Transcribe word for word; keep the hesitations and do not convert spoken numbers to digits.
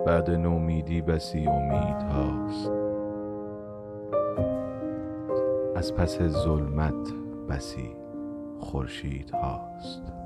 بعد نومیدی بسی امید هاست، از پس ظلمت بسی خورشید هاست.